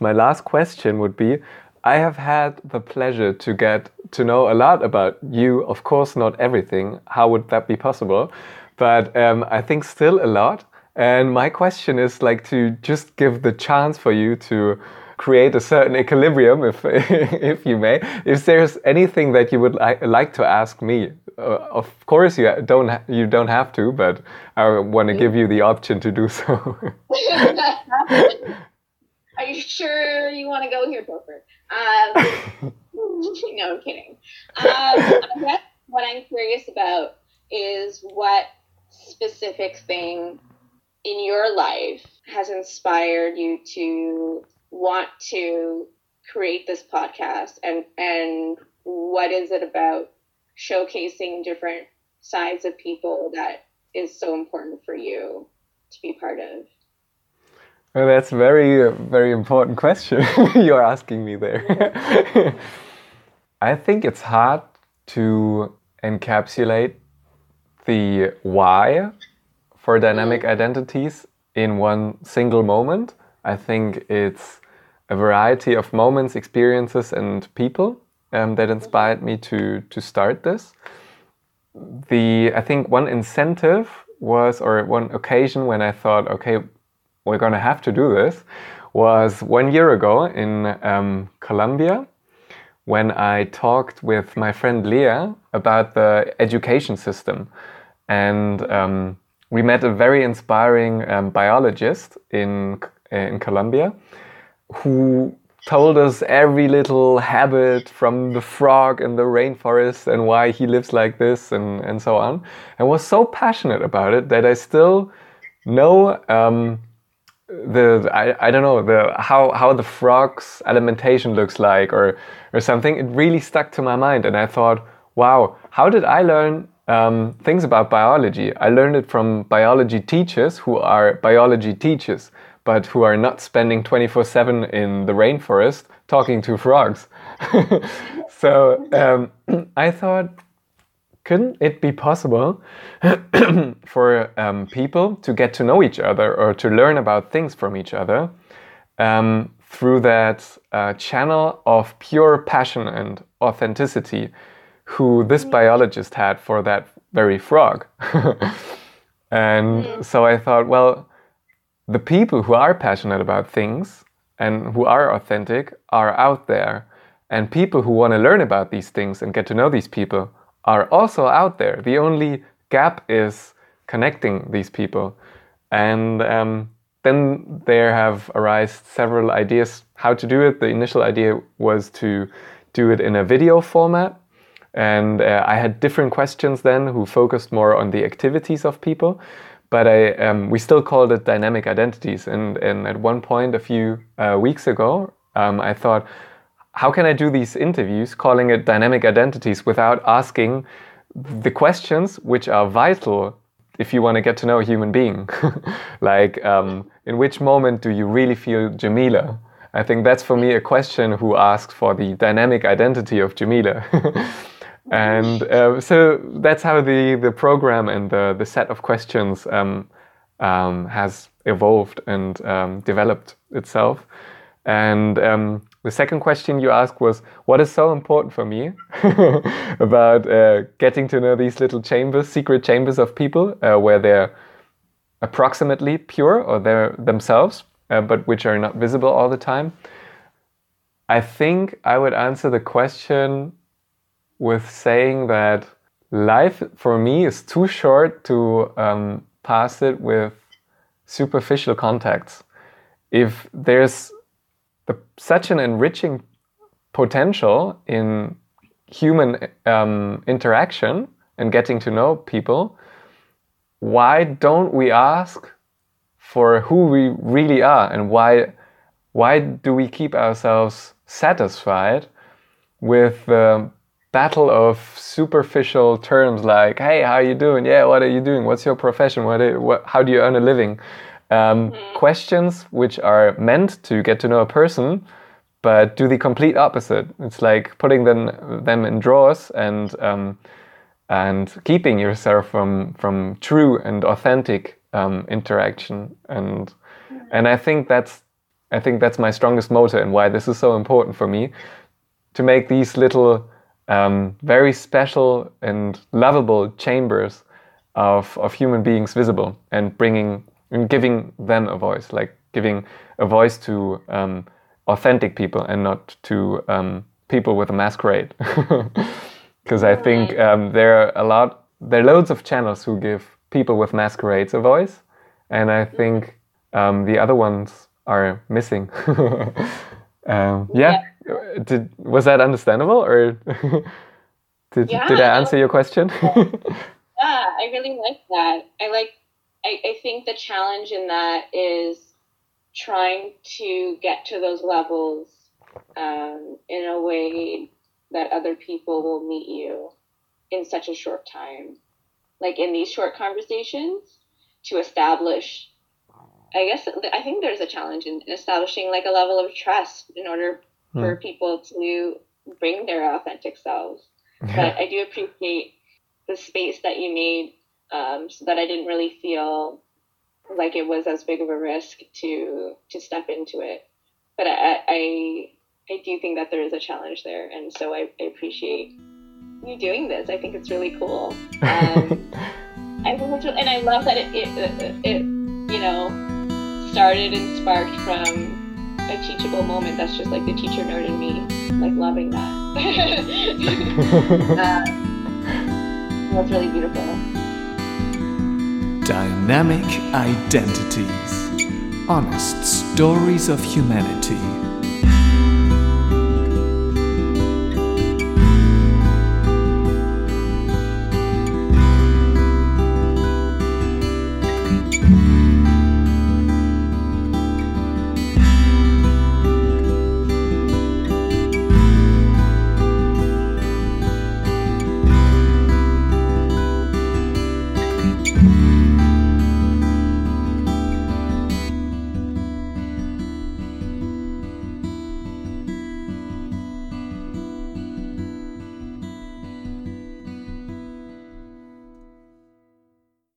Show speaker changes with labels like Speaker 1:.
Speaker 1: My last question would be, I have had the pleasure to get to know a lot about you. Of course, not everything. How would that be possible? But I think still a lot. And my question is like to just give the chance for you to create a certain equilibrium, if if you may. If there's anything that you would like to ask me, of course you don't have to, but I want to give you the option to do so.
Speaker 2: Are you sure you want to go here, Topher? No, I'm kidding. I guess what I'm curious about is what specific thing in your life has inspired you to want to create this podcast, and what is it about showcasing different sides of people that is so important for you to be part of?
Speaker 1: Well, that's very important question you're asking me there. I think it's hard to encapsulate the why for dynamic identities in one single moment. I think it's a variety of moments, experiences, and people that inspired me to start this. I think one incentive was, or one occasion when I thought, okay, we're going to have to do this, was 1 year ago in Colombia, when I talked with my friend Leah about the education system. And we met a very inspiring biologist in Colombia who told us every little habit from the frog in the rainforest and why he lives like this and so on, and was so passionate about it that I still know I don't know how the frog's alimentation looks like or something. It really stuck to my mind, and I thought, wow, how did I learn things about biology? I learned it from biology teachers who are biology teachers, but who are not spending 24/7 in the rainforest talking to frogs. So I thought, couldn't it be possible for people to get to know each other or to learn about things from each other through that channel of pure passion and authenticity who this biologist had for that very frog? And so I thought, well, the people who are passionate about things and who are authentic are out there, and people who want to learn about these things and get to know these people are also out there. The only gap is connecting these people. And then there have arisen several ideas how to do it. The initial idea was to do it in a video format. And I had different questions then who focused more on the activities of people. But we still called it dynamic identities. And at one point a few weeks ago, I thought, how can I do these interviews calling it dynamic identities without asking the questions which are vital if you want to get to know a human being? Like, in which moment do you really feel Jamila? I think that's for me a question who asks for the dynamic identity of Jamila. And so that's how the program and the set of questions has evolved and developed itself. And the second question you asked was, what is so important for me about getting to know these little chambers, secret chambers of people where they're approximately pure or they're themselves, but which are not visible all the time? I think I would answer the question with saying that life for me is too short to pass it with superficial contacts. If there's such an enriching potential in human interaction and getting to know people, why don't we ask for who we really are, and why do we keep ourselves satisfied with the battle of superficial terms like, hey, how are you doing? Yeah, what are you doing? What's your profession? How do you earn a living? Questions which are meant to get to know a person, but do the complete opposite. It's like putting them in drawers and keeping yourself from true and authentic interaction. And I think that's I think that's my strongest motive and why this is so important for me, to make these little very special and lovable chambers of human beings visible, and giving them a voice, like giving a voice to authentic people and not to people with a masquerade. Because I think there are loads of channels who give people with masquerades a voice, and I think the other ones are missing. Was that understandable, or did I answer your question?
Speaker 2: Yeah, I really like that. I think the challenge in that is trying to get to those levels in a way that other people will meet you in such a short time. Like in these short conversations, to establish, I think there's a challenge in establishing like a level of trust in order for people to bring their authentic selves. But I do appreciate the space that you made, so that I didn't really feel like it was as big of a risk to step into it. But I do think that there is a challenge there, and so I appreciate you doing this. I think it's really cool. And I love that it started and sparked from a teachable moment. That's just like the teacher nerd in me, like loving that. That's really beautiful.
Speaker 3: Dynamic identities. Honest stories of humanity.